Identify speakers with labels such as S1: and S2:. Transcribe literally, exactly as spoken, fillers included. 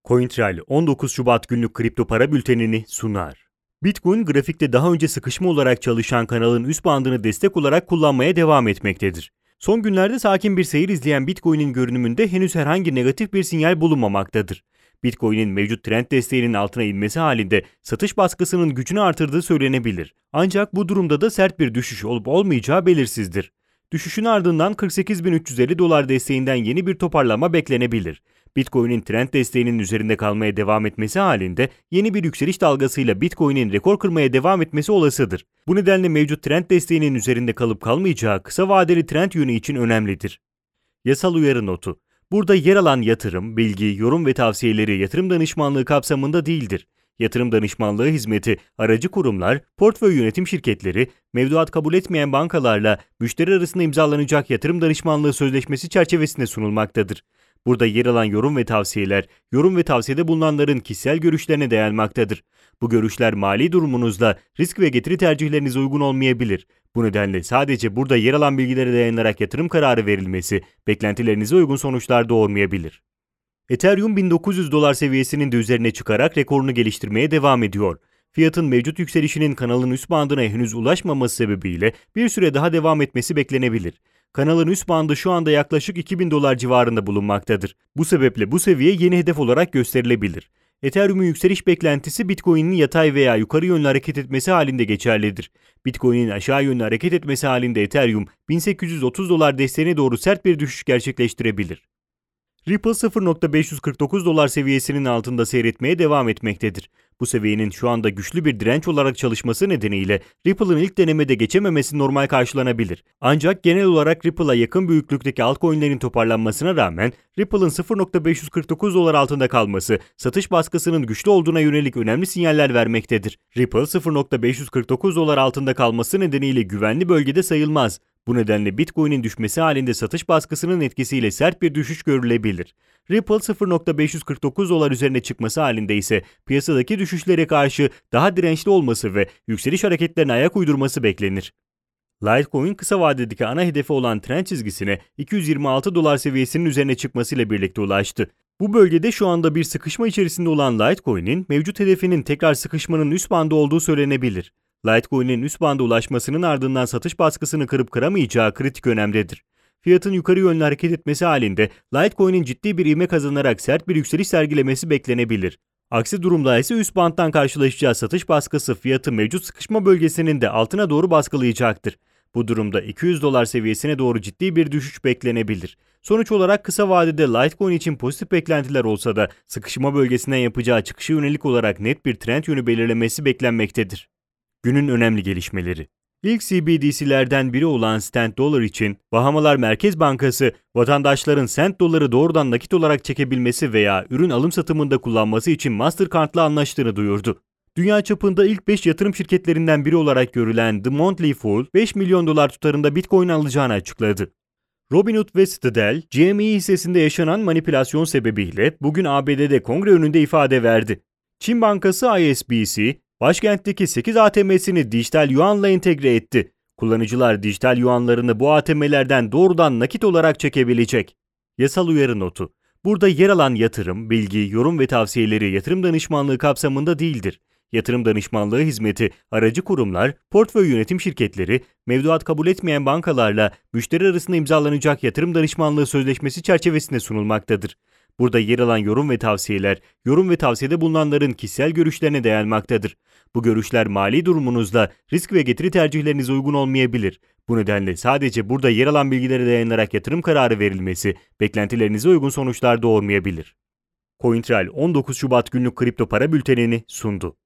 S1: CoinTrail on dokuz Şubat günlük kripto para bültenini sunar. Bitcoin grafikte daha önce sıkışma olarak çalışan kanalın üst bandını destek olarak kullanmaya devam etmektedir. Son günlerde sakin bir seyir izleyen Bitcoin'in görünümünde henüz herhangi negatif bir sinyal bulunmamaktadır. Bitcoin'in mevcut trend desteğinin altına inmesi halinde satış baskısının gücünü artırdığı söylenebilir. Ancak bu durumda da sert bir düşüş olup olmayacağı belirsizdir. Düşüşün ardından kırk sekiz bin üç yüz elli dolar desteğinden yeni bir toparlama beklenebilir. Bitcoin'in trend desteğinin üzerinde kalmaya devam etmesi halinde yeni bir yükseliş dalgasıyla Bitcoin'in rekor kırmaya devam etmesi olasıdır. Bu nedenle mevcut trend desteğinin üzerinde kalıp kalmayacağı kısa vadeli trend yönü için önemlidir. Yasal uyarı notu. Burada yer alan yatırım, bilgi, yorum ve tavsiyeleri yatırım danışmanlığı kapsamında değildir. Yatırım danışmanlığı hizmeti, aracı kurumlar, portföy yönetim şirketleri, mevduat kabul etmeyen bankalarla müşteri arasında imzalanacak yatırım danışmanlığı sözleşmesi çerçevesinde sunulmaktadır. Burada yer alan yorum ve tavsiyeler, yorum ve tavsiyede bulunanların kişisel görüşlerine dayanmaktadır. Bu görüşler mali durumunuzla risk ve getiri tercihlerinize uygun olmayabilir. Bu nedenle sadece burada yer alan bilgilere dayanarak yatırım kararı verilmesi, beklentilerinize uygun sonuçlar doğurmayabilir. Ethereum bin dokuz yüz dolar seviyesinin de üzerine çıkarak rekorunu geliştirmeye devam ediyor. Fiyatın mevcut yükselişinin kanalın üst bandına henüz ulaşmaması sebebiyle bir süre daha devam etmesi beklenebilir. Kanalın üst bandı şu anda yaklaşık iki bin dolar civarında bulunmaktadır. Bu sebeple bu seviye yeni hedef olarak gösterilebilir. Ethereum'un yükseliş beklentisi Bitcoin'in yatay veya yukarı yönlü hareket etmesi halinde geçerlidir. Bitcoin'in aşağı yönlü hareket etmesi halinde Ethereum bin sekiz yüz otuz dolar desteğine doğru sert bir düşüş gerçekleştirebilir. Ripple sıfır nokta beş yüz kırk dokuz dolar seviyesinin altında seyretmeye devam etmektedir. Bu seviyenin şu anda güçlü bir direnç olarak çalışması nedeniyle Ripple'ın ilk denemede geçememesi normal karşılanabilir. Ancak genel olarak Ripple'a yakın büyüklükteki altcoin'lerin toparlanmasına rağmen Ripple'ın sıfır nokta beş yüz kırk dokuz dolar altında kalması satış baskısının güçlü olduğuna yönelik önemli sinyaller vermektedir. Ripple sıfır nokta beş yüz kırk dokuz dolar altında kalması nedeniyle güvenli bölgede sayılmaz. Bu nedenle Bitcoin'in düşmesi halinde satış baskısının etkisiyle sert bir düşüş görülebilir. Ripple sıfır nokta beş yüz kırk dokuz dolar üzerine çıkması halinde ise piyasadaki düşüşlere karşı daha dirençli olması ve yükseliş hareketlerine ayak uydurması beklenir. Litecoin kısa vadedeki ana hedefi olan trend çizgisine iki yüz yirmi altı dolar seviyesinin üzerine çıkmasıyla birlikte ulaştı. Bu bölgede şu anda bir sıkışma içerisinde olan Litecoin'in mevcut hedefinin tekrar sıkışmanın üst bandı olduğu söylenebilir. Litecoin'in üst banda ulaşmasının ardından satış baskısını kırıp kıramayacağı kritik önemdedir. Fiyatın yukarı yönlü hareket etmesi halinde Litecoin'in ciddi bir ivme kazanarak sert bir yükseliş sergilemesi beklenebilir. Aksi durumda ise üst banttan karşılaşacağı satış baskısı fiyatı mevcut sıkışma bölgesinin de altına doğru baskılayacaktır. Bu durumda iki yüz dolar seviyesine doğru ciddi bir düşüş beklenebilir. Sonuç olarak kısa vadede Litecoin için pozitif beklentiler olsa da sıkışma bölgesinden yapacağı çıkışa yönelik olarak net bir trend yönü belirlemesi beklenmektedir. Günün önemli gelişmeleri. İlk C B D C'lerden biri olan Cent Dollar için Bahamalar Merkez Bankası, vatandaşların Cent Dollar'ı doğrudan nakit olarak çekebilmesi veya ürün alım satımında kullanması için Mastercard'la anlaştığını duyurdu. Dünya çapında ilk beş yatırım şirketlerinden biri olarak görülen The Motley Fool, beş milyon dolar tutarında Bitcoin alacağını açıkladı. Robinhood ve Citadel, G M E hissesinde yaşanan manipülasyon sebebiyle bugün A B D'de kongre önünde ifade verdi. Çin Bankası I S B C, başkentteki sekiz A T M'sini dijital yuanla entegre etti. Kullanıcılar dijital yuanlarını bu A T M'lerden doğrudan nakit olarak çekebilecek. Yasal uyarı notu. Burada yer alan yatırım, bilgi, yorum ve tavsiyeleri yatırım danışmanlığı kapsamında değildir. Yatırım danışmanlığı hizmeti, aracı kurumlar, portföy yönetim şirketleri, mevduat kabul etmeyen bankalarla müşteri arasında imzalanacak yatırım danışmanlığı sözleşmesi çerçevesinde sunulmaktadır. Burada yer alan yorum ve tavsiyeler, yorum ve tavsiyede bulunanların kişisel görüşlerine dayanmaktadır. Bu görüşler mali durumunuzla risk ve getiri tercihlerinize uygun olmayabilir. Bu nedenle sadece burada yer alan bilgilere dayanarak yatırım kararı verilmesi, beklentilerinize uygun sonuçlar doğurmayabilir. CoinTrail on dokuz Şubat günlük kripto para bültenini sundu.